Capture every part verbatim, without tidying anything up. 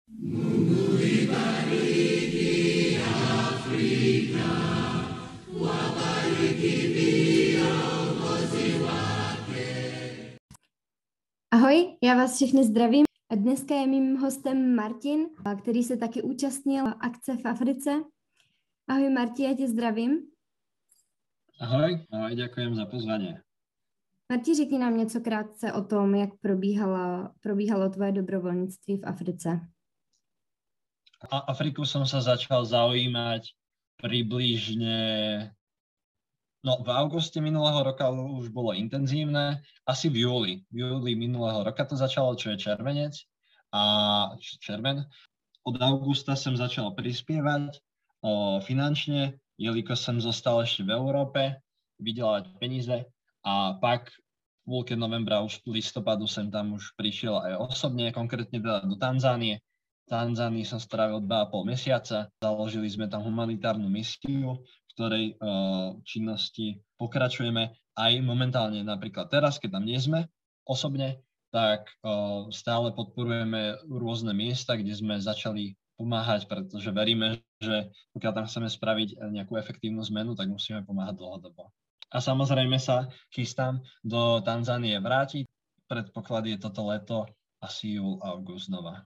Ahoj, já vás všechny zdravím. Dneska je mým hostem Martin, který se taky účastnil akce v Africe. Ahoj Marti, já tě zdravím. Ahoj, ahoj, ďakujem za pozvanie. Marti, řekni nám něco krátce o tom, jak probíhala, probíhalo tvoje dobrovolnictví v Africe. A Afriku som sa začal zaujímať približne, no v auguste minulého roka už bolo intenzívne, asi v júli, v júli minulého roka to začalo, čo je červenec a červen. Od augusta som začal prispievať o, finančne, jelikož som zostal ešte v Európe, vydelávať peníze a pak v pôlke novembra, už v listopadu som tam už prišiel aj osobne, konkrétne teda do Tanzánie. V Tanzánii som strávil dva a pol mesiaca, založili sme tam humanitárnu misiu, v ktorej uh, činnosti pokračujeme aj momentálne, napríklad teraz, keď tam nie sme osobne, tak uh, stále podporujeme rôzne miesta, kde sme začali pomáhať, pretože veríme, že pokiaľ tam chceme spraviť nejakú efektívnu zmenu, tak musíme pomáhať dlhodobo. A samozrejme sa chystám do Tanzánie vrátiť. Predpoklad je toto leto, asi júl, august znova.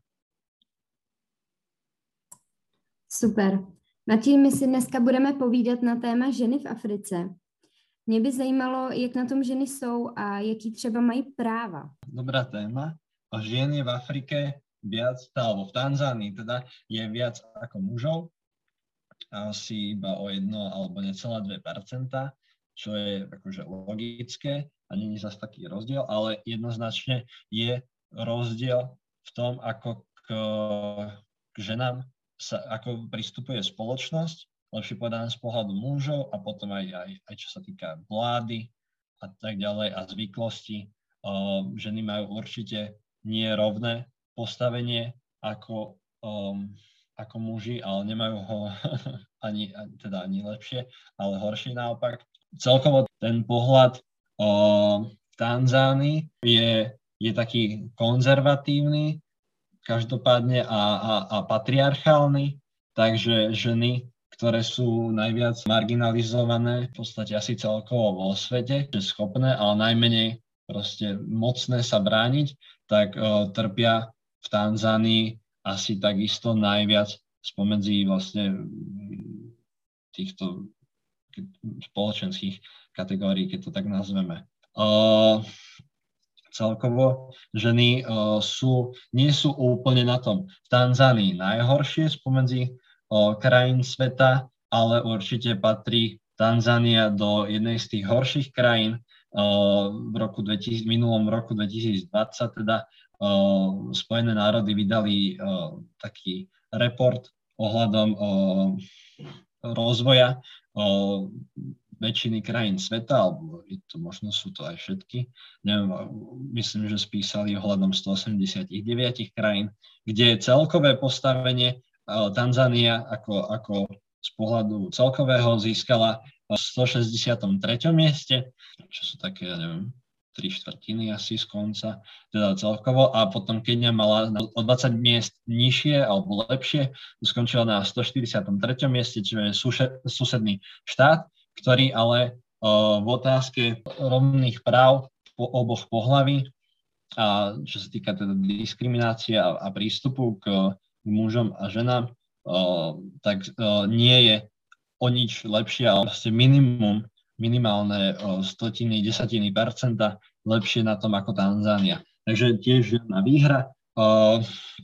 Super. Martin, my si dneska budeme povídat na téma ženy v Africe. Mě by zajímalo, jak na tom ženy jsou a jaký třeba mají práva. Dobrá téma. A žien je v Afrike viac, alebo v Tanzánii teda je viac ako mužov. Asi iba o jedno alebo necelé dve percentá, čo je akože logické a nie je zase taký rozdiel, ale jednoznačne je rozdiel v tom, ako k, k ženám sa, ako pristupuje spoločnosť, lepšie povedané z pohľadu mužov a potom aj, aj, aj čo sa týka vlády a tak ďalej a zvyklosti. Uh, ženy majú určite nie rovné postavenie ako, um, ako muži, ale nemajú ho ani, teda ani lepšie, ale horšie naopak. Celkovo ten pohľad uh, v Tanzánii je, je taký konzervatívny, každopádne a, a, a patriarchálny, takže ženy, ktoré sú najviac marginalizované v podstate asi celkovo vo svete, že schopné, ale najmenej proste mocné sa brániť, tak uh, trpia v Tanzánii asi takisto najviac spomedzi vlastne týchto spoločenských kategórií, keď to tak nazveme. Uh, Celkovo ženy uh, sú, nie sú úplne na tom v Tanzánii najhoršie spomedzi uh, krajín sveta, ale určite patrí Tanzánia do jednej z tých horších krajín. Uh, v, roku dvetisíc, v minulom roku dvetisícdvadsať teda uh, Spojené národy vydali uh, taký report ohľadom uh, rozvoja uh, väčšiny krajín sveta, alebo to, možno sú to aj všetky. Neviem, myslím, že spísali ohľadom stoosemdesiatdeväť krajín, kde je celkové postavenie uh, Tanzánia ako, ako z pohľadu celkového získala v stošesťdesiatom treťom mieste, čo sú také, ja neviem, tri štvrtiny asi z konca, teda celkovo. A potom Kenia mala o dvadsať miest nižšie alebo lepšie, skončila na stoštyridsiatom treťom mieste, čo je susedný štát, ktorý ale uh, v otázke rovných práv po oboch pohlaví a čo sa týka teda diskriminácie a, a prístupu k, k mužom a ženám, uh, tak uh, nie je o nič lepšie, ale vlastne minimum, minimálne uh, stotiny, desatiny percenta lepšie na tom ako Tanzánia. Takže tiež žiadna výhra. Uh,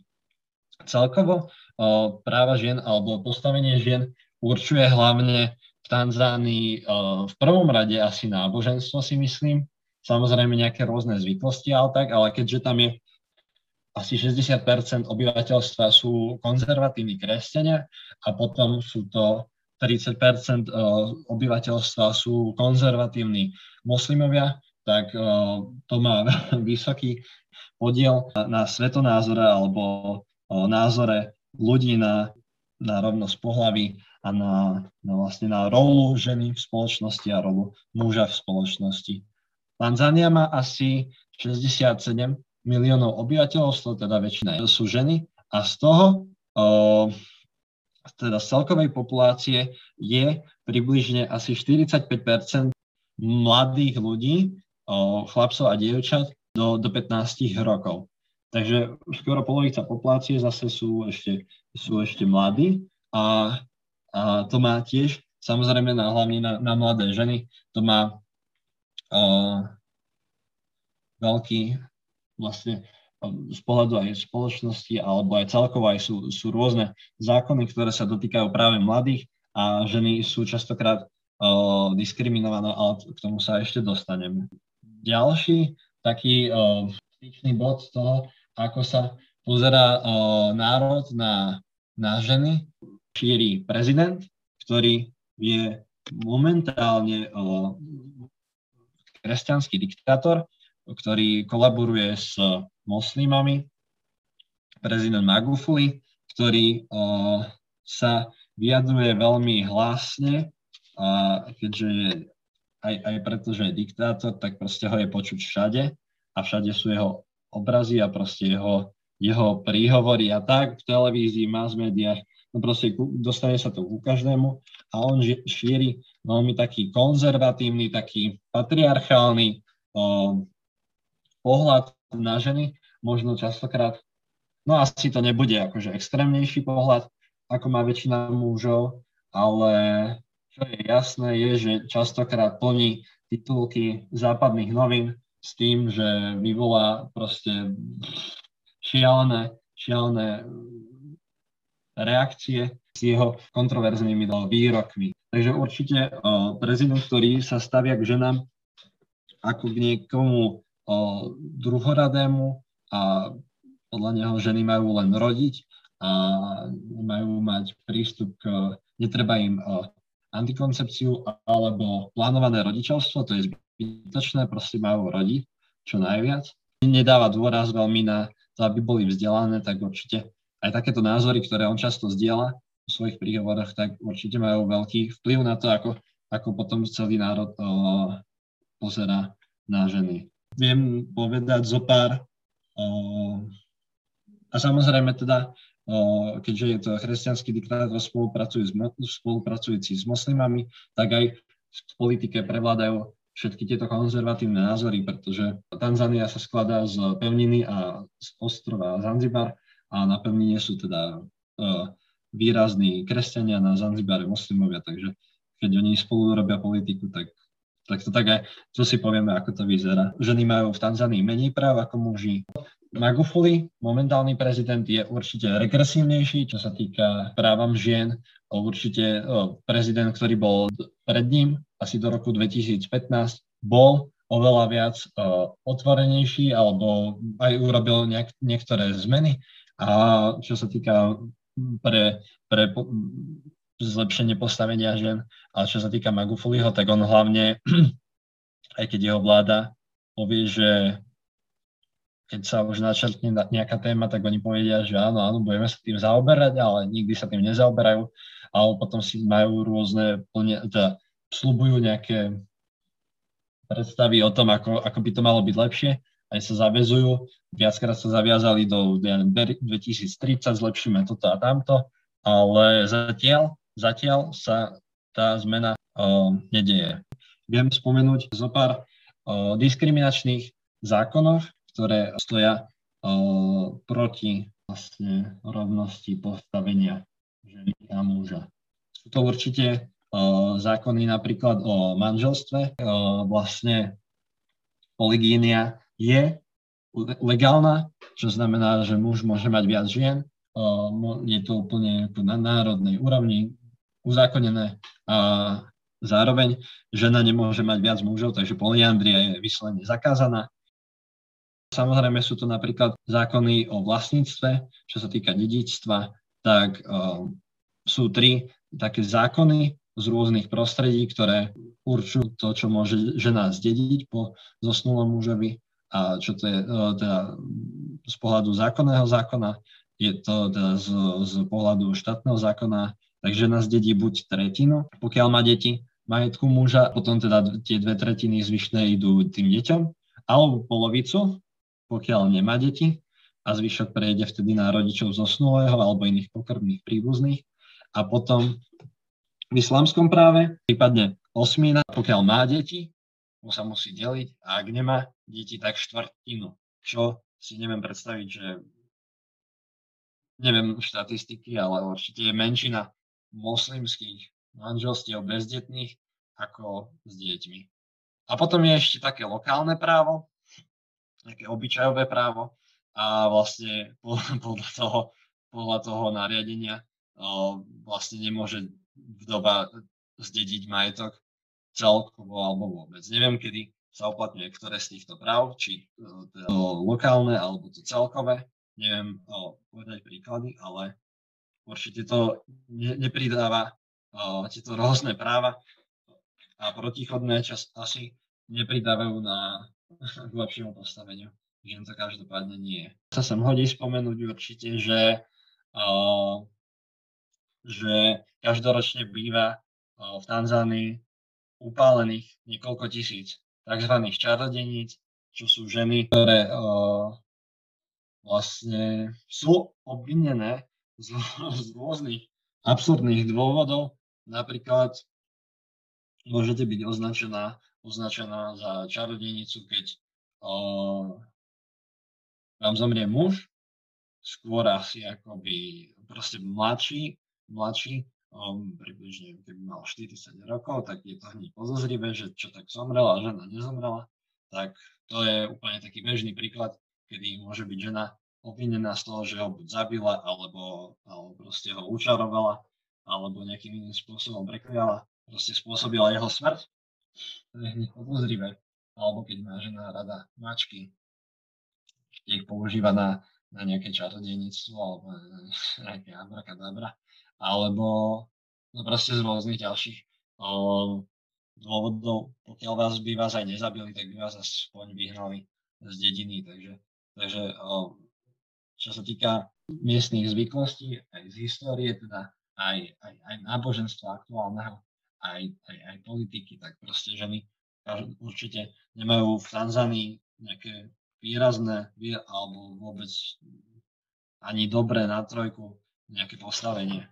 celkovo uh, práva žien alebo postavenie žien určuje hlavne v Tanzánii uh, v prvom rade asi náboženstvo, si myslím. Samozrejme nejaké rôzne zvyklosti, ale tak, ale keďže tam je asi šesťdesiat percent obyvateľstva sú konzervatívni kresťania a potom sú to tridsať percent uh, obyvateľstva sú konzervatívni moslimovia, tak uh, to má vysoký podiel na, na svetonázore alebo uh, názore ľudí na, na rovnosť pohlaví a na, na, vlastne na rolu ženy v spoločnosti a rolu muža v spoločnosti. Tanzánia má asi šesťdesiatsedem miliónov obyvateľov, teda väčšina sú ženy A z toho, uh, teda z celkovej populácie je približne asi štyridsaťpäť percent mladých ľudí, uh, chlapcov a dievčat do, do pätnásť rokov. Takže skoro polovica populácie zase sú ešte, sú ešte mladí a, a to má tiež, samozrejme na, hlavne na, na mladé ženy, to má uh, veľký vlastne z pohľadu aj spoločnosti, alebo aj celkovo aj sú, sú rôzne zákony, ktoré sa dotýkajú práve mladých a ženy sú častokrát uh, diskriminované, ale k tomu sa ešte dostaneme. Ďalší taký uh, styčný bod z toho, ako sa pozerá uh, národ na, na ženy, šíri prezident, ktorý je momentálne uh, kresťanský diktátor, ktorý kolaboruje s moslimami, prezident Magufuli, ktorý uh, sa vyjadruje veľmi hlasne, a keďže je, aj, aj preto, že je diktátor, tak proste ho je počuť všade a všade sú jeho obrazy a proste jeho, jeho príhovory a tak v televízii, mass médiách, no proste dostane sa to ku každému a on šíri veľmi taký konzervatívny, taký patriarchálny uh, pohľad na ženy, možno častokrát, no asi to nebude akože extrémnejší pohľad, ako má väčšina mužov, ale čo je jasné je, že častokrát plní titulky západných novín s tým, že vyvolá proste šialené, šialené reakcie s jeho kontroverznými výrokmi. Takže určite o, prezident, ktorý sa stavia k ženám ako k niekomu o, druhoradému a podľa neho ženy majú len rodiť a majú mať prístup k, netreba im o, antikoncepciu alebo plánované rodičovstvo, to je zbytočné, proste majú rodiť čo najviac. Nedáva dôraz veľmi na to, aby boli vzdelané, tak určite aj takéto názory, ktoré on často zdieľa v svojich príhovoroch, tak určite majú veľký vplyv na to, ako, ako potom celý národ o, pozerá na ženy. Viem povedať zo pár o, a samozrejme teda O, keďže je to kresťanský diktátor spolupracujúci, spolupracujúci s moslimami, tak aj v politike prevládajú všetky tieto konzervatívne názory, pretože Tanzania sa skladá z pevniny a z ostrova Zanzibar a na pevnine sú teda uh, výrazní kresťania, na Zanzibare moslimovia, takže keď oni spolu robia politiku, tak, tak to tak aj, čo si povieme, ako to vyzerá. Ženy majú v Tanzánii menej práv ako muži. Magufuli, momentálny prezident, je určite regresívnejší, čo sa týka právam žien. Určite prezident, ktorý bol pred ním, asi do roku dvetisícpätnásť, bol oveľa viac otvorenejší alebo aj urobil nejak, niektoré zmeny. A čo sa týka pre, pre po, zlepšenie postavenia žien, ale čo sa týka Magufuliho, tak on hlavne, aj keď jeho vláda povie, že keď sa už načrtne nejaká téma, tak oni povedia, že áno, áno, budeme sa tým zaoberať, ale nikdy sa tým nezaoberajú. Ale potom si majú rôzne, teda sľubujú nejaké predstavy o tom, ako, ako by to malo byť lepšie. Aj sa zaväzujú. Viackrát sa zaviazali do ja neviem, dvetisíctridsať, zlepšíme toto a tamto. Ale zatiaľ, zatiaľ sa tá zmena uh, nedeje. Viem spomenúť zo pár uh, diskriminačných zákonov, ktoré stoja uh, proti vlastne rovnosti postavenia ženy a muža. Sú to určite uh, zákony napríklad o manželstve. Uh, vlastne polygínia je legálna, čo znamená, že muž môže mať viac žien. Uh, je to úplne na národnej úrovni uzákonené a zároveň žena nemôže mať viac mužov, takže polyandria je vyslovene zakázaná. Samozrejme sú to napríklad zákony o vlastníctve, čo sa týka dedičstva, tak uh, sú tri také zákony z rôznych prostredí, ktoré určujú to, čo môže žena zdediť po zosnulom mužovi a čo to je uh, teda z pohľadu zákonného zákona, je to teda z, z pohľadu štátneho zákona, tak žena zdedí buď tretinu, pokiaľ má deti, majetku muža, potom teda tie dve tretiny zvyšné idú tým deťom, alebo polovicu, pokiaľ nemá deti. a zvyšok prejde vtedy na rodičov zosnulého alebo iných pokrvných príbuzných. A potom v islamskom práve prípadne osmina, pokiaľ má deti, mu sa musí deliť, a ak nemá deti, tak štvrtinu. Čo si neviem predstaviť, že neviem štatistiky, ale určite je menšina moslimských manželstiev bezdetných ako s deťmi. A potom je ešte také lokálne právo, také obyčajové právo, a vlastne podľa toho, podľa toho nariadenia vlastne nemôže vdova zdediť majetok celkovo alebo vôbec. Neviem, kedy sa uplatňuje ktoré z týchto práv, či to lokálne alebo to celkové. Neviem o, povedať príklady, ale určite to ne, nepridáva o, tieto rôzne práva a protichodné čas asi nepridávajú na k lepšiemu postaveniu. Žien to každopádne nie. Sa sem hodí spomenúť určite, že, o, že každoročne býva o, v Tanzánii upálených niekoľko tisíc tzv. Čarodeníc, čo sú ženy, ktoré o, vlastne sú obvinené z, z rôznych absurdných dôvodov. Napríklad môžete byť označená, označená za čarodejnicu, keď o, vám zomrie muž, skôr asi akoby proste mladší, mladší, o, približne keby mal štyridsať rokov, tak je to hneď podozrivé, že čo tak zomrela a žena nezomrela. Tak to je úplne taký bežný príklad, kedy môže byť žena obvinená z toho, že ho buď zabila, alebo, alebo proste ho učarovala, alebo nejakým iným spôsobom prekliala, proste spôsobila jeho smrť. To je hneď podozrivé. Alebo keď má žena rada mačky, ich používa na, na nejaké čarodejníctvo, alebo na nejaké abrakadabra, alebo no proste z rôznych ďalších o, dôvodov. Pokiaľ vás by vás aj nezabili, tak by vás aspoň vyhnali z dediny. Takže, takže o, čo sa týka miestnych zvyklostí, aj z histórie, teda aj, aj, aj náboženstva aktuálneho, aj, aj, aj politiky, tak proste ženy určite nemajú v Tanzánii nejaké výrazné alebo vôbec ani dobré na trojku nejaké postavenie.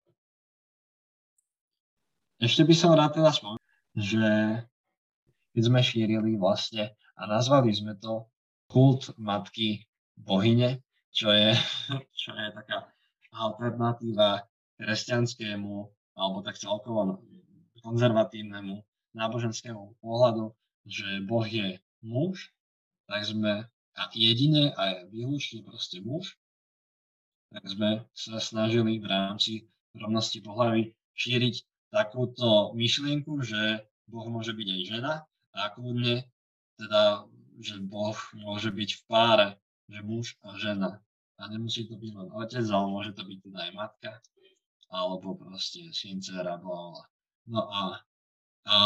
Ešte by som rád teda spomenul, že keď sme šírili vlastne a nazvali sme to kult matky bohyne, čo je, čo je taká alternatíva kresťanskému alebo tak celkovo konzervatívnemu náboženskému pohľadu, že Boh je muž, tak sme a jediné a výlučne proste muž, tak sme sa snažili v rámci rovnosti pohlaví šíriť takúto myšlienku, že Boh môže byť aj žena a kľudne teda, že Boh môže byť v páre, že muž a žena. A nemusí to byť len otec, ale môže to byť teda aj matka, alebo proste syn, dcera, blablabla. No a, a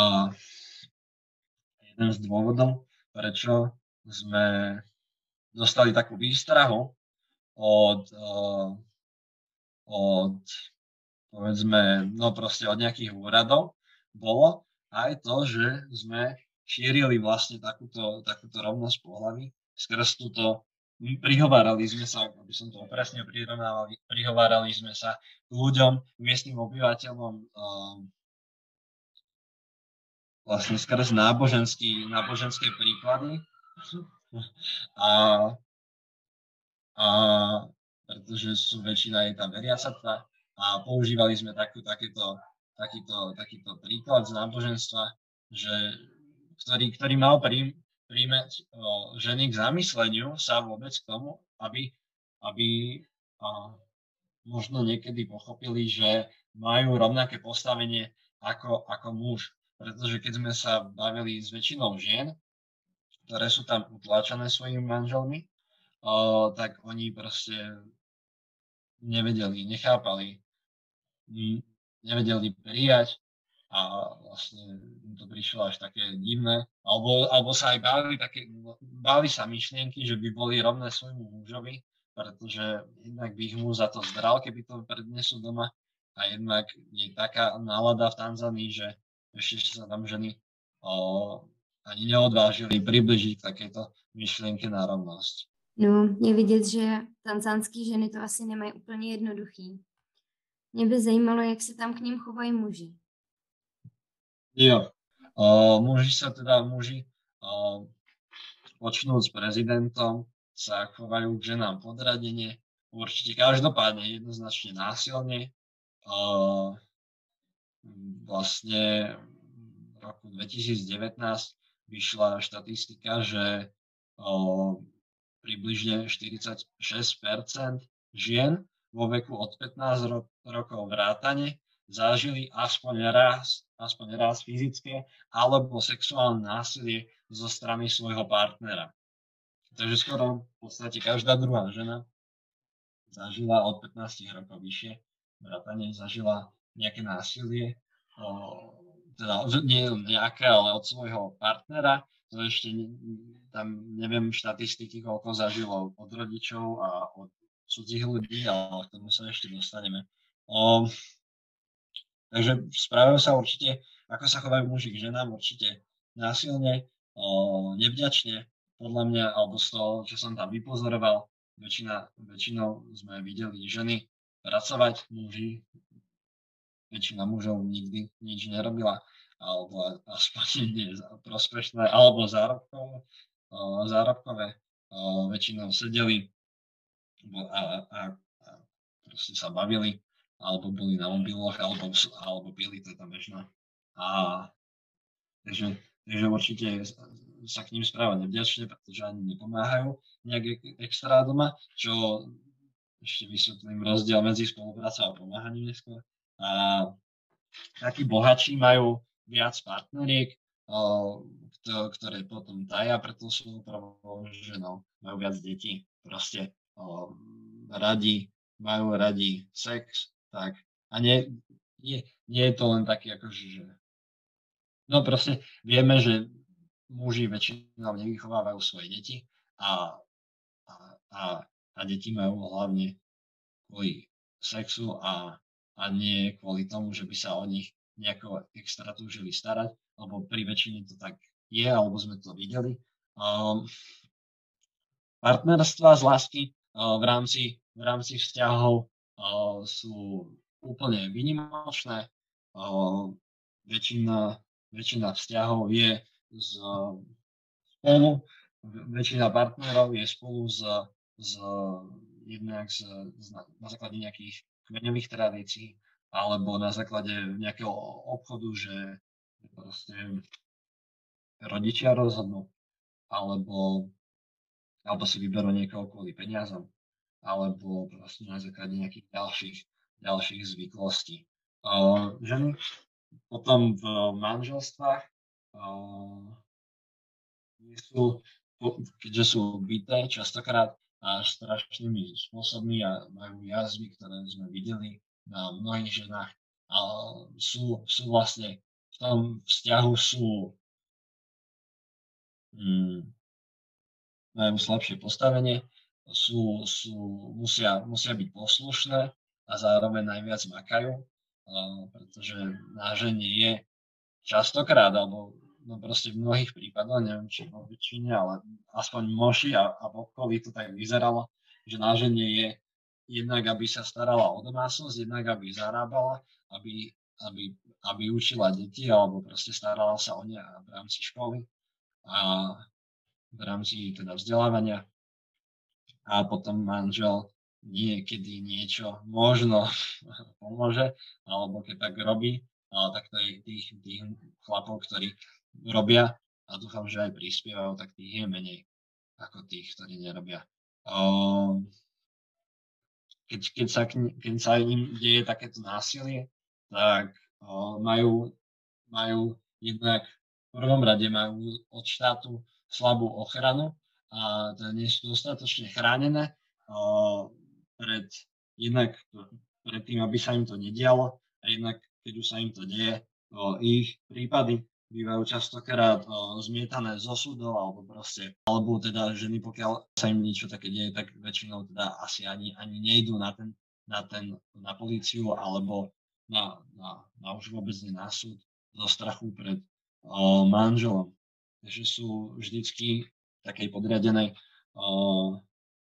jeden z dôvodov, prečo sme dostali takú výstrahu od, uh, od povedzme, no proste od nejakých úradov, bolo aj to, že sme šírili vlastne takúto, takúto rovnosť pohlaví. Skrz túto prihovárali sme sa, aby som to presne prirovnával, prihovárali sme sa k ľuďom, k miestnym obyvateľom um, vlastne skrz náboženský, náboženské príklady. A, a pretože sú väčšina je tam veriaca a používali sme takú, takéto, takýto, takýto príklad z náboženstva, že, ktorý, ktorý mal prí, príjmeť o, ženy k zamysleniu sa vôbec k tomu, aby, aby a, možno niekedy pochopili, že majú rovnaké postavenie ako, ako muž. Pretože keď sme sa bavili s väčšinou žien, ktoré sú tam utláčané svojimi manželmi, o, tak oni proste nevedeli, nechápali, nevedeli prijať a vlastne to prišlo až také divné, alebo, alebo sa aj báli, také, báli sa myšlienky, že by boli rovné svojmu mužovi, pretože jednak by ich muž za to zdral, keby to prednesú doma, a jednak je taká nálada v Tanzánii, že ešte sa tam ženy o, ani neodvážili približiť takéto myšlienke na rovnosť. No, je vidět, že tanzánský ženy to asi nemají úplně jednoduchý. Mě by zajímalo, jak se tam k ním chovají muži. Jo, uh, muži sa teda, muži uh, počnúť s prezidentom sa chovajú k ženám podradene, určite každopádne jednoznačne násilne. Uh, vlastne v roku dvetisícdevätnásť vyšla štatistika, že uh, približne štyridsaťšesť percent žien vo veku od pätnásť ro- rokov vrátane zažili aspoň raz, aspoň raz fyzické alebo sexuálne násilie zo strany svojho partnera. Takže skoro v podstate každá druhá žena zažila od pätnásť rokov vyššie vrátane zažila nejaké násilie, o, teda nie nejaké, ale od svojho partnera. To ešte tam neviem štatistiky, koľko zažilo od rodičov a od cudzích ľudí, ale k tomu sa ešte dostaneme. O, takže správajú sa určite, ako sa chovajú muži k ženám, určite násilne, o, nevďačne, podľa mňa, alebo z toho, čo som tam vypozoroval, väčšina, väčšinou sme videli ženy pracovať, muži, väčšina mužov nikdy nič nerobila, alebo aspoň nie prospešné, alebo zárobkové, zárobkové väčšinou sedeli a, a, a proste sa bavili, alebo boli na mobiloch, alebo, alebo pili, to je tam bežné. A takže, takže určite sa k ním správať nevďačne, pretože ani nepomáhajú nejak extra doma, čo ešte vysvetlím rozdiel medzi spoluprácou a pomáhaním neskôr. A takí bohatší majú viac partneriek, ktoré potom taja pred tou svojou prvou ženou, majú viac detí, proste o, radi, majú radi sex, tak. A nie, nie, nie je to len taký akože, že no proste vieme, že muži väčšinou nevychovávajú svoje deti a, a, a, a deti majú hlavne kvôli sexu a, a nie kvôli tomu, že by sa o nich nejako extra túžili starať, lebo pri väčšine to tak je, alebo sme to videli. Um, partnerstva z lásky uh, v, rámci, v rámci vzťahov uh, sú úplne výnimočné. Uh, väčšina, väčšina vzťahov je z, spolu, väčšina partnerov je spolu z, z jednak z, z, na základe nejakých kmeňových tradícií alebo na základe nejakého obchodu, že proste rodičia rozhodnú, alebo, alebo si vyberú niekoho kvôli peniazom, alebo proste na základe nejakých ďalších, ďalších zvyklostí. Uh, ženy potom v manželstvách uh, sú, keďže sú byté častokrát a strašnými spôsobmi a majú jazvy, ktoré sme videli na mnohých ženách, a sú, sú vlastne v tom vzťahu sú hmm, majú slabšie postavenie, sú, sú, musia, musia byť poslušné a zároveň najviac makajú, uh, pretože na žene je častokrát, alebo no proste v mnohých prípadoch, neviem či vo väčšine, ale aspoň moši a, a v okolí to tak vyzeralo, že na žene je jednak, aby sa starala o domácnosť, jednak, aby zarábala, aby, aby, aby učila deti, alebo proste starala sa o ne v rámci školy a v rámci teda vzdelávania. A potom manžel niekedy niečo možno pomôže, alebo keď tak robí, ale tak to je tých, tých chlapov, ktorí robia a dúfam, že aj prispievajú, tak tých je menej ako tých, ktorí nerobia. Um, keď, keď, sa, keď sa im deje takéto násilie, tak um, majú, majú jednak v prvom rade majú od štátu slabú ochranu a nie sú dostatočne chránené uh, pred, jednak pred tým, aby sa im to nedialo a jednak keď už sa im to deje, uh, ich prípady bývajú častokrát uh, zmietané zo súdov alebo proste, alebo teda ženy, pokiaľ sa im niečo také deje, tak väčšinou teda asi ani, ani nejdú na ten, na ten, na políciu alebo na, na, na už vôbec nie na súd zo strachu pred uh, manželom. Takže sú vždycky takej podriadenej uh,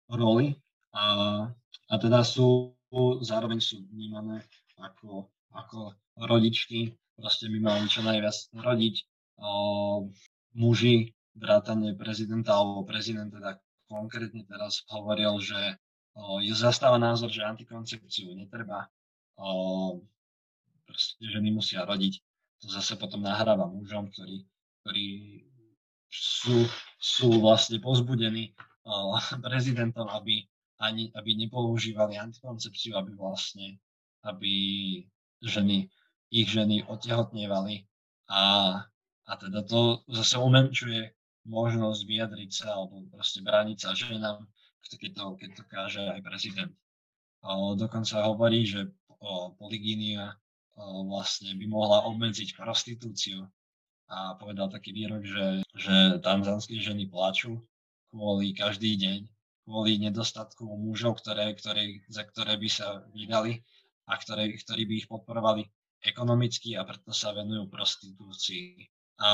roli a, a teda sú, zároveň sú vnímané ako, ako rodičky, proste by mali čo najviac rodiť. O, muži, vrátane prezidenta alebo prezident teda konkrétne teraz hovoril, že o, je zastáva názor, že antikoncepciu netreba, o, proste ženy musia rodiť. To zase potom nahráva mužom, ktorí, ktorí sú, sú vlastne pozbudení o, prezidentom, aby, ani, aby nepoužívali antikoncepciu, aby vlastne, aby ženy, ich ženy otehotnievali a, a teda to zase umenčuje možnosť vyjadriť sa alebo proste brániť sa ženám, keď to, keď to káže aj prezident. O, dokonca hovorí, že o, polygínia o, vlastne by mohla obmedziť prostitúciu. A povedal taký výrok, že, že tanzánske ženy plačú kvôli každý deň, kvôli nedostatku mužov, ktoré, ktoré, za ktoré by sa vydali a ktoré, ktorí by ich podporovali ekonomicky a preto sa venujú prostitúcii. A,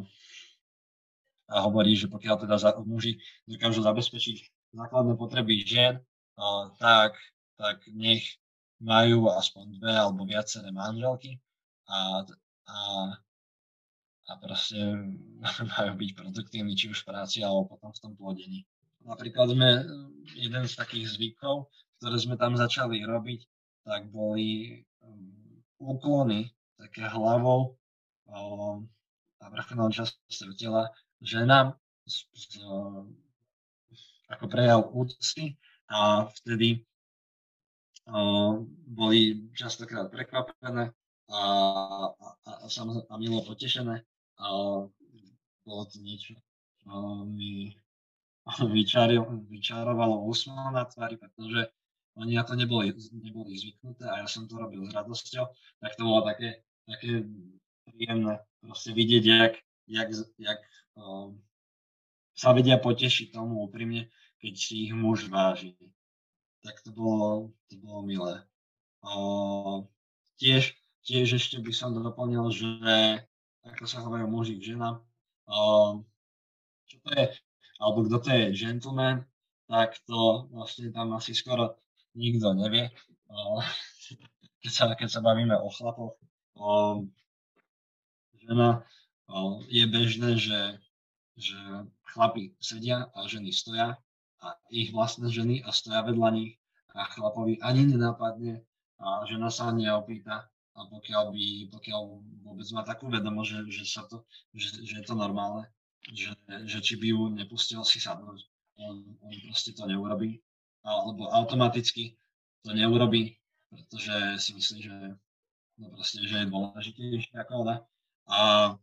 a hovorí, že pokiaľ teda za, muži dokážu zabezpečiť základné potreby žien, a, tak, tak nech majú aspoň dve alebo viaceré manželky a, a a proste majú byť produktívni či už v práci alebo potom v tom plodení. Napríklad sme jeden z takých zvykov, ktoré sme tam začali robiť, tak boli um, úklony také hlavou um, a vrcholnou časťou tela ženám um, ako prejav úcty a vtedy um, boli častokrát prekvapené a, a, a, a milo potešené. A bolo to niečo, čo mi vyčarovalo úsmev na tvári, pretože oni na to neboli, neboli zvyknuté a ja som to robil s radosťou, tak to bolo také, také príjemné proste vidieť, jak, jak, jak um, sa vedia potešiť tomu úprimne, keď si ich muž váži. Tak to bolo, to bolo milé. Um, tiež, tiež ešte by som doplnil, že ako sa hovorí muži k ženám, um, čo to je, alebo kto to je gentleman, tak to vlastne tam asi skoro nikto nevie. Uh, keď, sa, keď sa bavíme o chlapoch, um, žena, um, je bežné, že, že chlapi sedia a ženy stoja a ich vlastné ženy a stoja vedľa nich a chlapovi ani nenápadne a žena sa neopýta. A pokiaľ by, pokiaľ vôbec má takú vedomosť, že, že, sa to, že, že je to normálne, že, že či by ju nepustil si sadnúť, on, on proste to neurobí, alebo automaticky to neurobí, pretože si myslí, že, no proste, že je dôležitejšie ako ona. A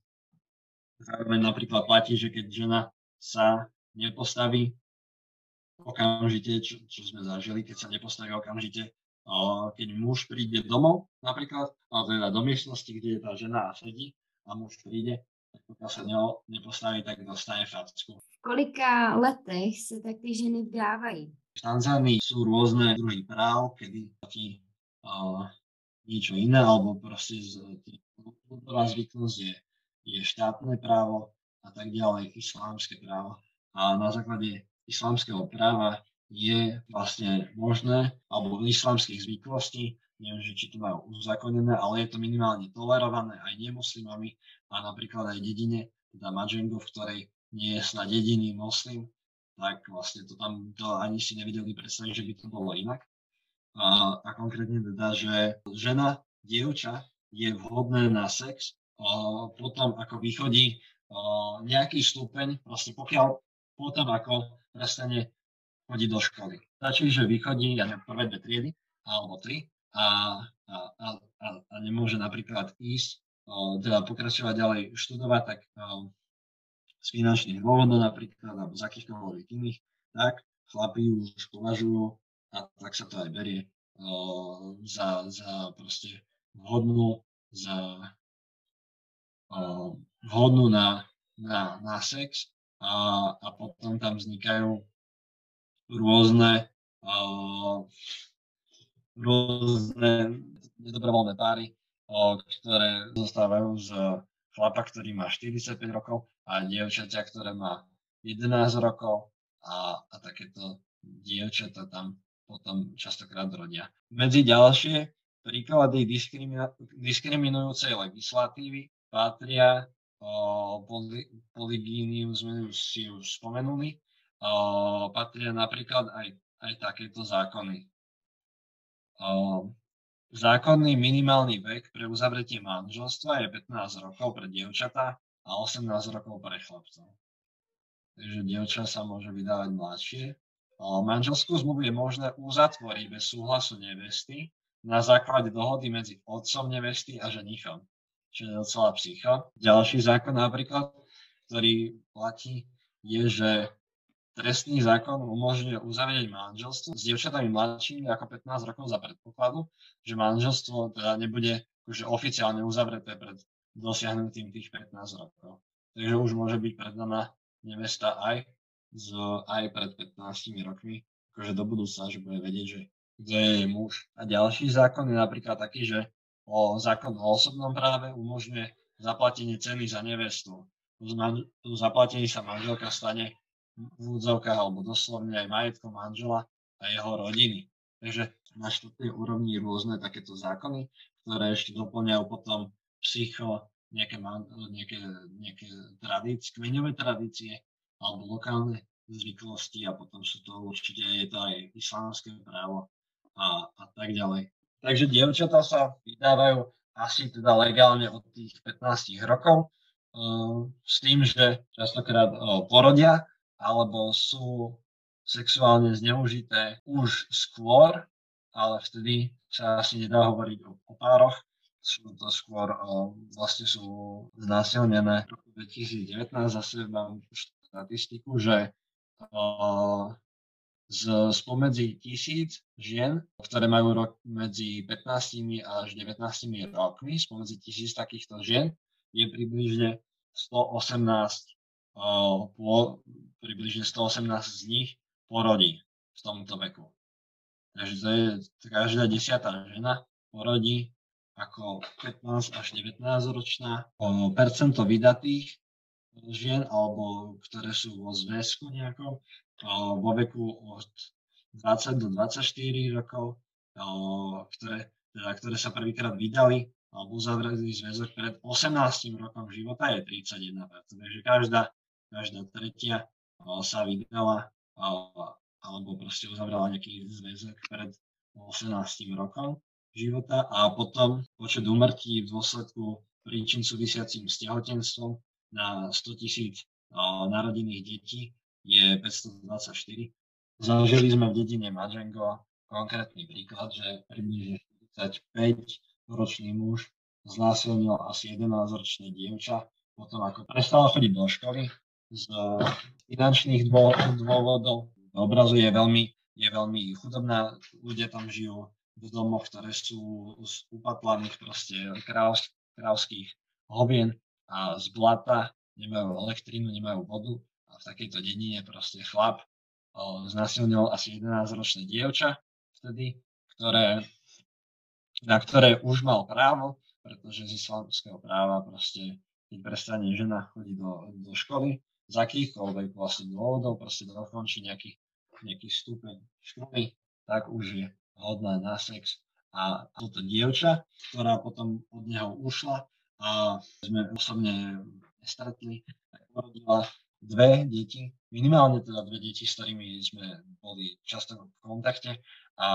zároveň napríklad platí, že keď žena sa nepostaví okamžite, čo, čo sme zažili, keď sa nepostaví okamžite, keď muž príde domov napríklad, alebo teda do miestnosti, kde je tá žena a sedí a muž príde, tak pokiaľ sa neho nepostaví, tak dostane facku. V kolika letech sa tak ty ženy vdávají? V Tanzánii sú rôzne druhy práv, kedy platí uh, niečo iné, alebo proste kultúrna zvyknosť je, je štátne právo a tak ďalej, islámske právo. A na základe islámskeho práva je vlastne možné, alebo islamských zvyklostí, neviem, že či to majú uzákonené, ale je to minimálne tolerované aj nemuslimami a napríklad aj dedine, teda Madžengo, v ktorej nie je snad jediný moslim, tak vlastne to tam to ani si nevedeli predstaviť, že by to bolo inak. A, a konkrétne teda, že žena, dievča je vhodné na sex a potom ako vychodí a, nejaký stupeň, proste pokiaľ potom ako prestane chodí do školy. Stačí, že vychodí, ja neviem, prvé dve triedy, alebo tri, a, a, a, a nemôže napríklad ísť, o, teda pokračovať ďalej študovať, tak o, z finančných dôvodov napríklad, alebo z akýchkoľvek iných, tak chlapi už považujú, a tak sa to aj berie, o, za, za proste vhodnú, za o, vhodnú na, na, na sex a, a potom tam vznikajú rôzne, uh, rôzne nedobrovoľné páry, uh, ktoré zostávajú z chlapa, ktorý má štyridsaťpäť rokov a dievčaťa, ktoré má jedenásť rokov a, a takéto, dievčatá tam potom častokrát rodia. Medzi ďalšie príklady diskrimina- diskriminujúcej legislatívy patria o, poly- polygíniu, sme už si už spomenuli, o, patria napríklad aj, aj takéto zákony. O, zákonný minimálny vek pre uzavretie manželstva je pätnásť rokov pre dievčatá a osemnásť rokov pre chlapcov. Takže dievča sa môže vydávať mladšie. Manželskú zmluvu je možné uzatvoriť bez súhlasu nevesty na základe dohody medzi otcom nevesty a ženichom, čo je docela psycho. Ďalší zákon napríklad, ktorý platí, je, že trestný zákon umožňuje uzavrieť manželstvo s dievčatami mladšími ako pätnásť rokov za predpokladu, že manželstvo teda nebude akože oficiálne uzavreté pred dosiahnutím tých pätnásť rokov. Takže už môže byť predaná nevesta aj, z, aj pred pätnástimi rokmi, akože do budúcna, že bude vedieť, že kto je jej muž. A ďalší zákon je napríklad taký, že o zákon o osobnom práve umožňuje zaplatenie ceny za nevestu. Tu zaplatení sa manželka stane v úvodzovkách alebo doslovne aj majetkom manžela a jeho rodiny. Takže na štátnej úrovni rôzne takéto zákony, ktoré ešte doplňajú potom psycho, nejaké, nejaké, nejaké tradície, kmeňové tradície alebo lokálne zvyklosti a potom sú to určite je to aj islamské právo a, a tak ďalej. Takže dievčatá sa vydávajú asi teda legálne od tých pätnástich rokov uh, s tým, že častokrát uh, porodia alebo sú sexuálne zneužité už skôr, ale vtedy sa asi nedá hovoriť o, o pároch. Sú to skôr, o, vlastne sú znásilnené. V roku dvetisícdevätnásť zase mám štatistiku, že o, z, spomedzi tisíc žien, ktoré majú rok medzi pätnástimi až devätnástimi rokmi, spomedzi tisíc takýchto žien, je približne stoosemnásť O, po, približne stoosemnásť z nich porodí v tomto veku. Takže to je každá desiatá žena porodí ako pätnásť až devätnásť ročná. O, percento vydatých žien, alebo ktoré sú vo zväzku nejakom, o, vo veku od dvadsať do dvadsaťštyri rokov, o, ktoré, teda, ktoré sa prvýkrát vydali alebo uzavreli zväzok pred osemnástym rokom života, je tridsaťjeden percent. Takže každá každá tretia sa vydala alebo proste uzavrela nejaký zväzok pred osemnástym rokom života a potom počet úmrtí v dôsledku príčin súvisiacím s tehotenstvom na sto tisíc narodených detí je päťstodvadsaťštyri. Zažili sme v dedine Majengo konkrétny príklad, že približne štyridsaťpäťročný muž znásilnil asi jedenásťročné dievča potom ako prestala chodiť do školy z finančných dôvodov. Obrazu je veľmi, je veľmi chudobná, ľudia tam žijú v domoch, ktoré sú z upatlaných proste krávsk, krávských hovien a z blata, nemajú elektrínu, nemajú vodu a v takejto dedine proste chlap znásilnil asi jedenásťročné dievča vtedy, ktoré, na ktoré už mal právo, pretože z islamského práva proste, keď prestane žena chodiť do, do školy, z akýchkoľvek vlastne dôvodov, proste dokončí nejaký, nejaký stupeň školy, tak už je hodná na sex. A toto dievča, ktorá potom od neho ušla a sme osobne stretli, tak porodila dve deti, minimálne teda dve deti, s ktorými sme boli často v kontakte a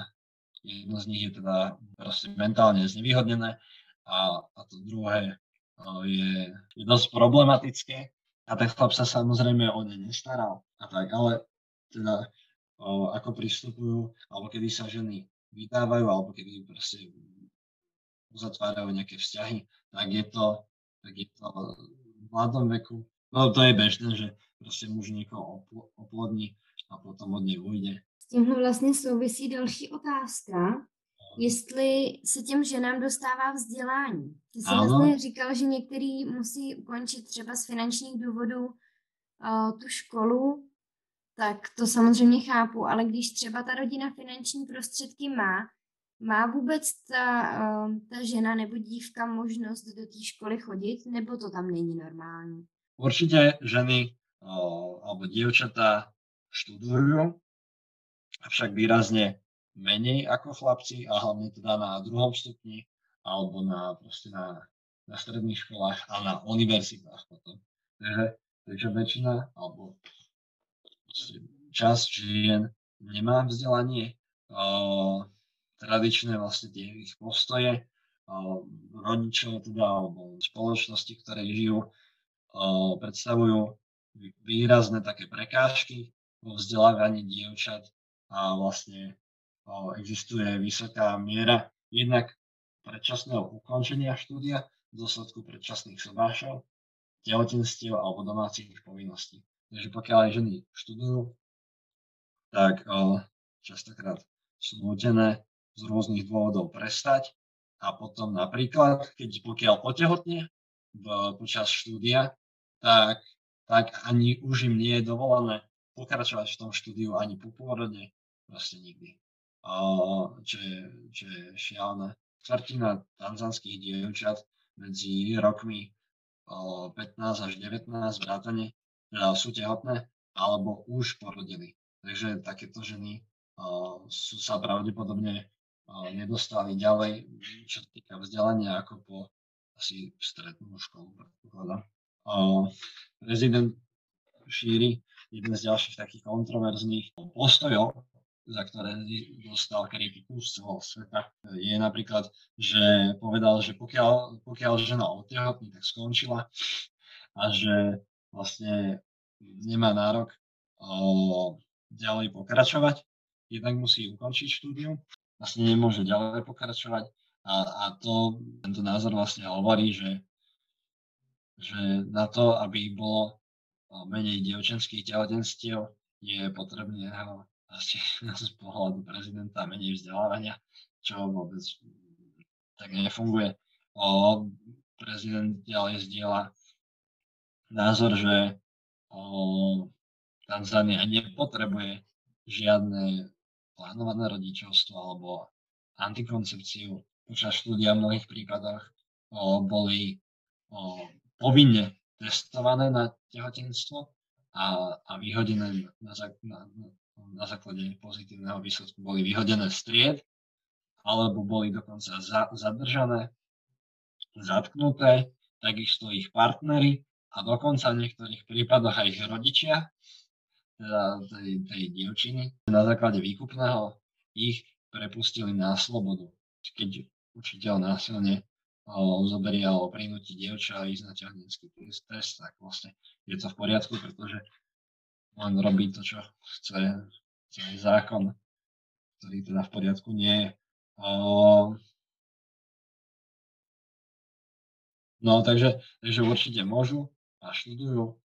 jedno z nich je teda proste mentálne znevýhodnené a, a to druhé je, je dosť problematické. A ten chlap sa samozrejme o ne nestaral a tak, ale teda o, ako pristupujú, alebo kedy sa ženy vydávajú, alebo kedy proste uzatvárajú nejaké vzťahy, tak je to, tak je to v mladom veku. No to je bežné, že proste muž niekoho oplodní a potom od nej ujde. S tímhle vlastně souvisí další otázka. Jestli se těm ženám dostává vzdělání. Ty jsi vlastně říkal, že některý musí ukončit třeba z finančních důvodů uh, tu školu, tak to samozřejmě chápu, ale když třeba ta rodina finanční prostředky má, má vůbec ta, uh, ta žena nebo dívka možnost do té školy chodit, nebo to tam není normální? Určitě ženy uh, alebo dievčatá študujú avšak výrazne menej ako chlapci a hlavne teda na druhom stupni alebo na, proste na, na stredných školách a na univerzitách potom. Takže, takže väčšina alebo časť žien nemá vzdelanie, uh, tradičné vlastne tie ich postoje, uh, rodičov teda alebo spoločnosti, ktoré žijú, uh, predstavujú výrazné také prekážky vo vzdelávaní dievčat a vlastne uh, existuje vysoká miera jednak predčasného ukončenia štúdia v dôsledku predčasných sobášov, tehotenstiev alebo domácich povinností. Takže pokiaľ aj ženy študujú, tak uh, častokrát sú nútené z rôznych dôvodov prestať a potom napríklad, keď pokiaľ otehotne počas štúdia, tak, tak ani už im nie je dovolené pokračovať v tom štúdiu ani po pôrode, proste nikdy. Uh, čo, je, čo je šialené. Štvrtina tanzanských dievčat medzi rokmi uh, pätnásť až devätnásť vrátane teda sú tehotné alebo už porodili. Takže takéto ženy uh, sú sa pravdepodobne uh, nedostali ďalej, čo sa týka vzdelania, ako po asi strednú školu, predpokladám. Uh, prezident šíri jeden z ďalších takých kontroverzných postojov, za ktoré dostal kritiku z celého sveta, je napríklad, že povedal, že pokiaľ, pokiaľ žena otehotní, tak skončila a že vlastne nemá nárok uh, ďalej pokračovať, jednak musí ukončiť štúdium, vlastne nemôže ďalej pokračovať a, a to, tento názor vlastne hovorí, že, že na to, aby bolo menej dievčenských tehotenstiev, je potrebné asi z pohľadu prezidenta menej vzdelávania, čo vôbec tak nefunguje. O, prezident ďalej zdieľa názor, že o, Tanzánia nepotrebuje žiadne plánované rodičovstvo alebo antikoncepciu. Počas štúdia v mnohých prípadoch o, boli o, povinne testované na tehotenstvo a, a vyhodené na, na, na základe pozitívneho výsledku boli vyhodené z tried alebo boli dokonca za, zadržané, zatknuté, takisto ich partneri a dokonca v niektorých prípadoch aj ich rodičia, teda tej, tej dievčiny, na základe výkupného ich prepustili na slobodu. Keď učiteľ násilne zoberie alebo prinúti dievča a ísť na ťahnenský test, tak vlastne je to v poriadku, pretože on robí to, čo chce celý zákon, ktorý teda v poriadku nie je. No takže, takže určite môžu a študujú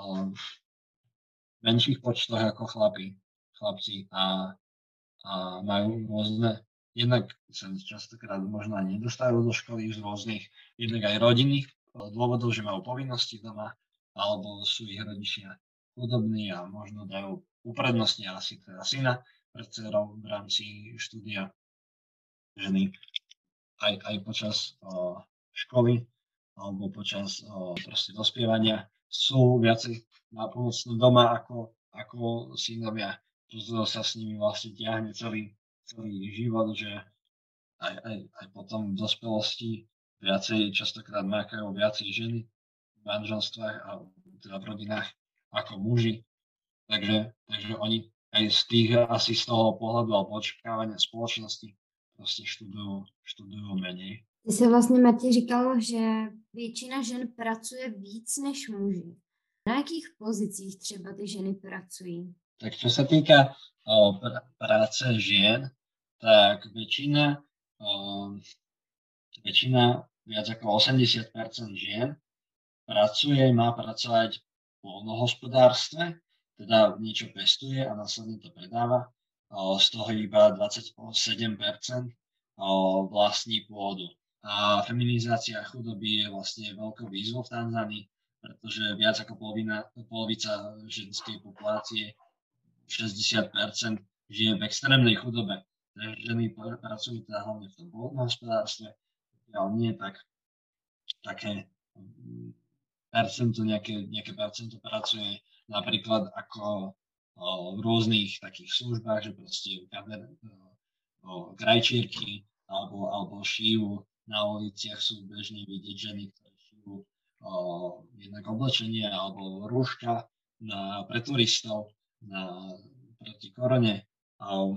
v menších počtoch ako chlapi, chlapci a, a majú rôzne, jednak sa častokrát možno aj nedostávajú do školy z rôznych, jednak aj rodinných dôvodov, že majú povinnosti doma, alebo sú ich rodičia chudobní a možno dajú uprednostnia asi teda syna pred dcerou v rámci štúdia ženy aj, aj počas o, školy alebo počas o, proste dospievania sú viacej napomocné doma ako, ako synovia. To sa s nimi vlastne ťahne celý, celý život, že aj, aj, aj potom v dospelosti viacej, častokrát mákajú viacej ženy v manželstvách a teda v rodinách ako muži. Takže, takže oni aj z tých, asi z toho pohľadu alebo očakávania spoločnosti proste študujú, študujú menej. Ty se vlastně, Matěj, říkal, že většina žen pracuje víc než muži. Na jakých pozicích třeba ty ženy pracují? Tak čo sa týka o, pr- práce žien, tak väčšina, o, väčšina, viac ako osemdesiat percent žien pracuje, má pracovať v poľnohospodárstve, teda niečo pestuje a následne to predáva. O, z toho iba dvadsaťsedem percent o, vlastní pôdu. A feminizácia chudoby je vlastne veľkou výzvou v Tanzánii, pretože viac ako polovina, polovica ženskej populácie, šesťdesiat percent, žije v extrémnej chudobe. Ženy pracujú teda hlavne v tom poľnohospodárstve, ale nie tak také percento, nejaké, nejaké percento pracuje napríklad ako o, v rôznych takých službách, že proste kader, o, krajčírky alebo, alebo šívu. Na uliciach sú bežne vidieť ženy, ktoré šívu o, jednak oblečenie alebo rúška na, pre turistov na, proti korone. O,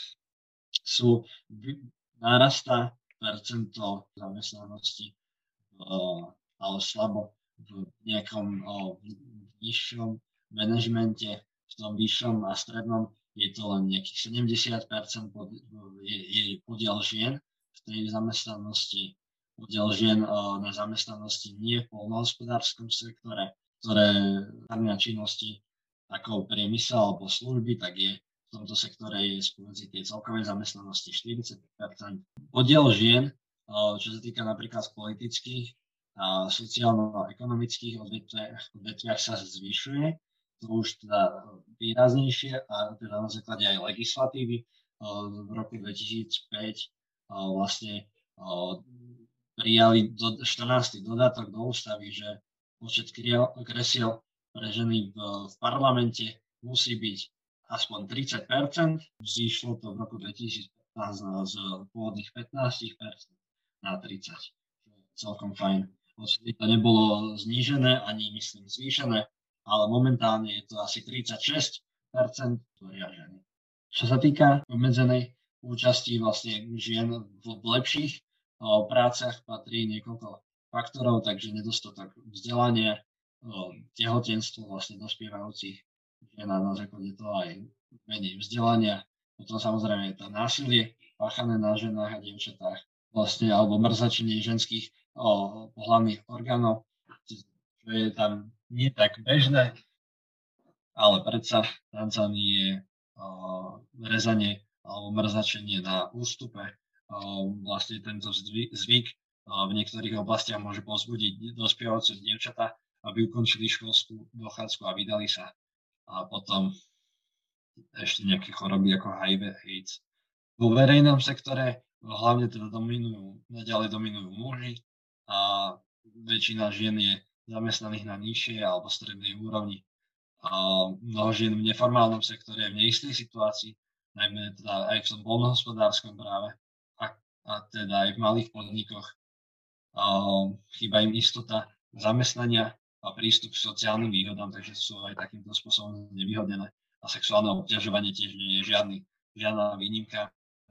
sú, narastá percento zamestnanosti, o, ale slabo v nejakom o, v nižšom manažmente, v tom vyššom a strednom je to len nejakých sedemdesiat percent pod, je, je podiel žien v tej zamestnanosti, podiel žien o, na zamestnanosti nie v poľnohospodárskom sektore, ktoré zahrňa činnosti ako priemysel alebo služby, tak je v tomto sektore je spomedzi tej celkovej zamestnanosti štyridsať percent. Podiel žien, o, čo sa týka napríklad politických a sociálno-ekonomických odvetviach, odvetviach sa zvyšuje, to už teda výraznejšie a teda na základe aj legislatívy v roku dvetisícpäť vlastne prijali do, štrnásty dodatok do ústavy, že počet kresiel pre ženy v, v parlamente musí byť aspoň tridsať percent, vzýšlo to v roku dvetisícpätnásť z pôvodných pätnásť percent na tridsať percent, celkom fajn. Odtedy to nebolo znížené, ani myslím zvýšené, ale momentálne je to asi tridsaťšesť percent tvoria ženy. Čo sa týka obmedzenej účasti vlastne žien v lepších o, prácach patrí niekoľko faktorov, takže nedostatok vzdelania, o, tehotenstvo vlastne dospievajúcich žien a na základe toho aj menej vzdelania. Potom samozrejme je to násilie páchané na ženách a dievčatách, vlastne alebo mrzačenie ženských o pohlavných orgánov, čo je tam nie tak bežné, ale predsa v Tanzánii je o, rezanie alebo mrzačenie na ústupe. O, vlastne tento zvyk, zvyk o, v niektorých oblastiach môže povzbudiť dospievajúce dievčatá, aby ukončili školskú dochádzku a vydali sa. A potom ešte nejaké choroby ako há í vé, AIDS. Vo verejnom sektore hlavne teda dominujú, naďalej dominujú muži, a väčšina žien je zamestnaných na nižšej alebo strednej úrovni. A mnoho žien v neformálnom sektore je v neistej situácii, najmä teda aj v tom poľnohospodárskom práve a, a teda aj v malých podnikoch. A chýba im istota zamestnania a prístup k sociálnym výhodám, takže sú aj takýmto spôsobom nevýhodnené. A sexuálne obťažovanie tiež nie je žiadny, žiadna výnimka.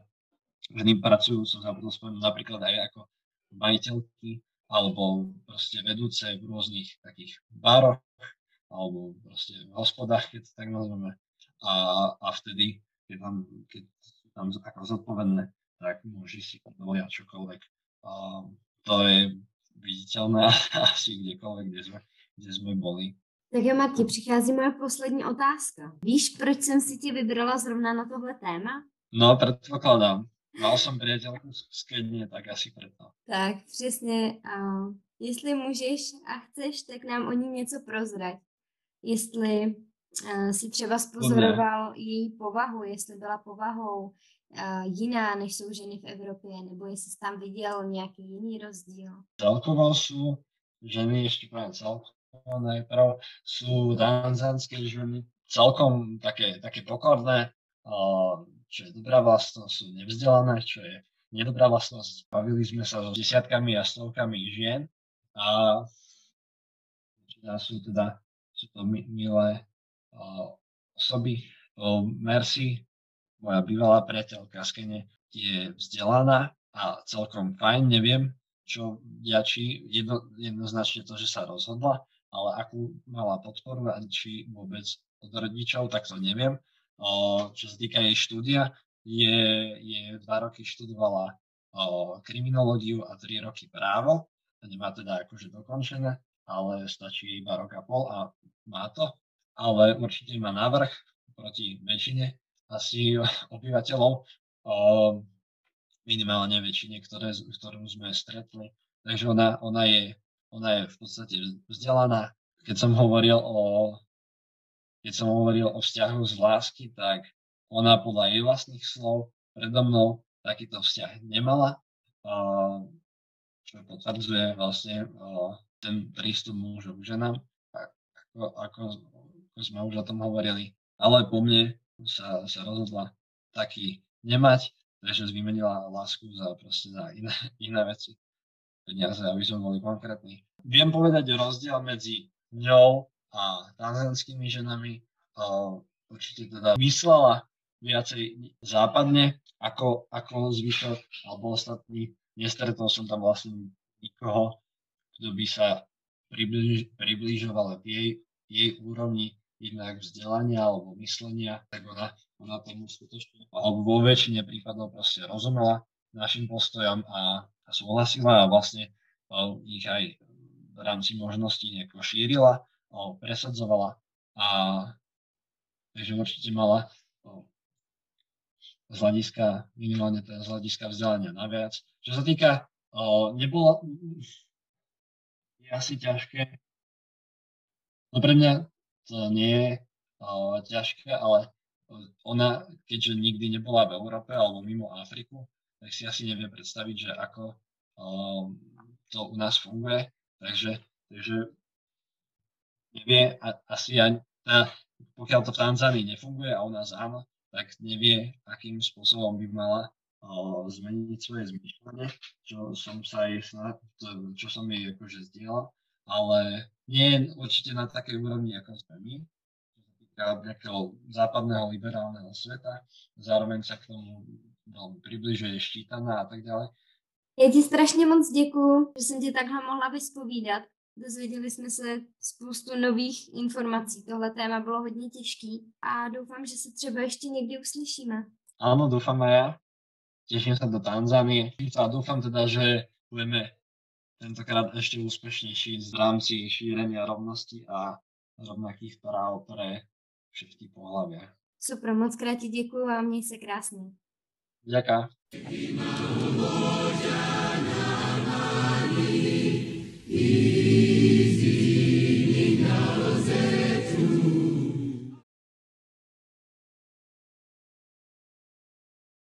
Ženy pracujú, som zabudol spomenúť, napríklad aj ako majiteľky alebo proste vedúce v rôznych takých baroch alebo proste v hospodách, keď to tak nazveme. A, a vtedy, keď tam, keď tam ako zodpovedné, tak môže si dovolia čokoľvek. A to je viditeľné asi kdekoľvek, kde sme, kde sme boli. Tak jo, Marti, přichází moje poslední otázka. Víš, proč jsem si tě vybrala zrovna na tohle téma? No, predpokladám. Mal som priateľku z Kenie, tak asi preto. Tak, přesně. Uh, jestli můžeš a chceš, tak nám o ní něco prozrať. Jestli uh, si třeba spozoroval její povahu, jestli byla povahou uh, jiná, než jsou ženy v Evropě, nebo jestli jsi tam viděl nějaký jiný rozdíl. Celkovo sú ženy, ešte poviem celkovo najprv, sú tanzánske ženy celkom také, také pokorné, uh, čo je dobrá vlastnosť, sú nevzdelané, čo je nedobrá vlastnosť. Bavili sme sa so desiatkami a stovkami žien a sú teda sú to milé uh, osoby. Uh, Mercy, moja bývalá priateľka z Kene, je vzdelaná a celkom fajn, neviem, čo ďačí jedno, jednoznačne to, že sa rozhodla, ale akú mala podporu a či vôbec od rodičov, tak to neviem. O, čo sa týka jej štúdia, je, je dva roky študovala o, kriminológiu a tri roky právo. Nemá teda akože dokončené, ale stačí iba rok a pol a má to. Ale určite má návrh proti väčšine asi obyvateľov, o, minimálne väčšine, ktoré, ktorú sme stretli. Takže ona, ona, je, ona je v podstate vzdelaná. Keď som hovoril o Keď som hovoril o vzťahu z lásky, tak ona podľa jej vlastných slov predo mnou takýto vzťah nemala, čo potvrdzuje vlastne ten prístup mužov k ženám, ako, ako, ako sme už o tom hovorili. ale po mne sa, sa rozhodla taký nemať, takže vymenila lásku za proste za iné, iné veci. Peniaze, aby sme boli konkrétni. Viem povedať rozdiel medzi ňou a tanzánskými ženami. Uh, určite teda myslela viacej západne ako, ako zvyšok alebo ostatní. Nestretol som tam vlastne nikoho, kto by sa približ, približoval k jej, jej úrovni jednak vzdelania alebo myslenia, tak ona, ona tomu skutočne, alebo vo väčšine prípadov proste rozumela našim postojom a, a súhlasila a vlastne o, ich aj v rámci možností nejako šírila, o, presadzovala a takže určite mala o, z hľadiska, minimálne teda z hľadiska vzdelania naviac. Čo sa týka, o, nebolo, je asi ťažké, no pre mňa to nie je o, ťažké, ale ona, keďže nikdy nebola v Európe alebo mimo Afriku, tak si asi nevie predstaviť, že ako um, to u nás funguje. Takže, takže nevie a, asi aj, teda, pokiaľ to v Tanzánii nefunguje a u nás áno, tak nevie, akým spôsobom by mala uh, zmeniť svoje zmýšľanie, čo som sa jej snad, čo som jej akože zdieľal, ale nie je určite na takej úrovni, ako sme my, nejakého západného liberálneho sveta, zároveň sa k tomu veľmi približuje, štítaná a tak ďalej. Já ti strašně moc děkuju, že jsem tě takhle mohla vyspovídat. Dozvěděli jsme se spoustu nových informací. Tohle téma bylo hodně těžký a doufám, že se třeba ještě někdy uslyšíme. Áno, dúfam aj ja. Teším sa do Tanzánie a dúfam teda, že budeme tentokrát ešte úspešnejší v rámci šírenia rovnosti a rovnakých práv pre všetky pohlavia. Super, moc krát ti děkuju a měj se krásně. Ďakujem.